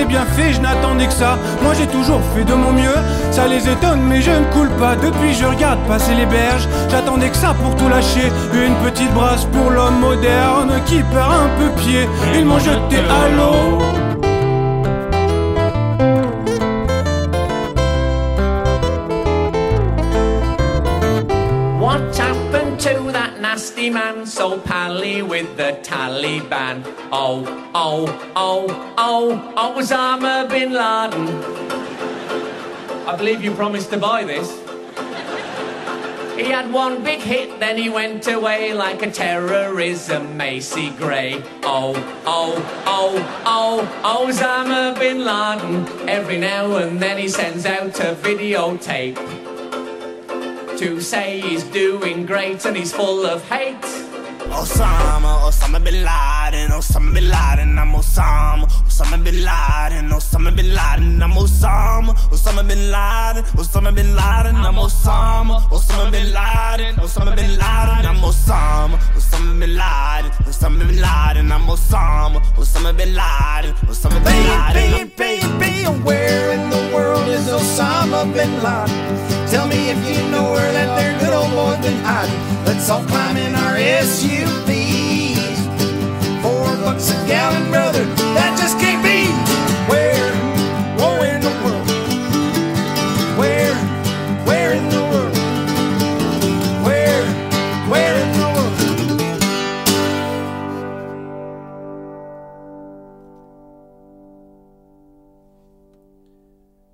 j'ai bien fait, je n'attendais que ça. Moi j'ai toujours fait de mon mieux. Ça les étonne mais je ne coule pas. Depuis je regarde passer les berges. J'attendais que ça pour tout lâcher. Une petite brasse pour l'homme moderne qui perd un peu pied. Ils m'ont jeté à l'eau. What happened to that nasty man so pally with the Taliban? Oh, oh, oh, oh, Osama bin Laden. I believe you promised to buy this. He had one big hit, then he went away like a terrorism Macy Gray. Oh, oh, oh, oh, Osama bin Laden. Every now and then he sends out a videotape to say he's doing great and he's full of hate. Osama bin Laden, Osama bin Laden, I'm Osama bin Laden, Osama bin Laden, I'm Osama bin Laden, Osama bin Laden, I'm Osama bin Laden, Osama bin Laden, I'm Osama bin Laden, Osama bin Laden, I'm Osama bin Laden, Osama bin Laden. Baby, where in the world is Osama bin Laden? Tell me if you know where that there good old boy been hiding. Let's all climb in our